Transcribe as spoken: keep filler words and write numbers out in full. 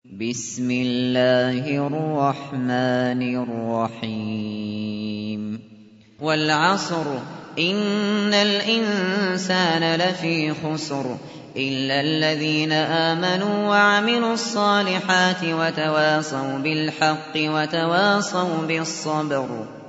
بسم الله الرحمن الرحيم والعصر إن الإنسان لفي خسر إلا الذين آمنوا وعملوا الصالحات وتواصوا بالحق وتواصوا بالصبر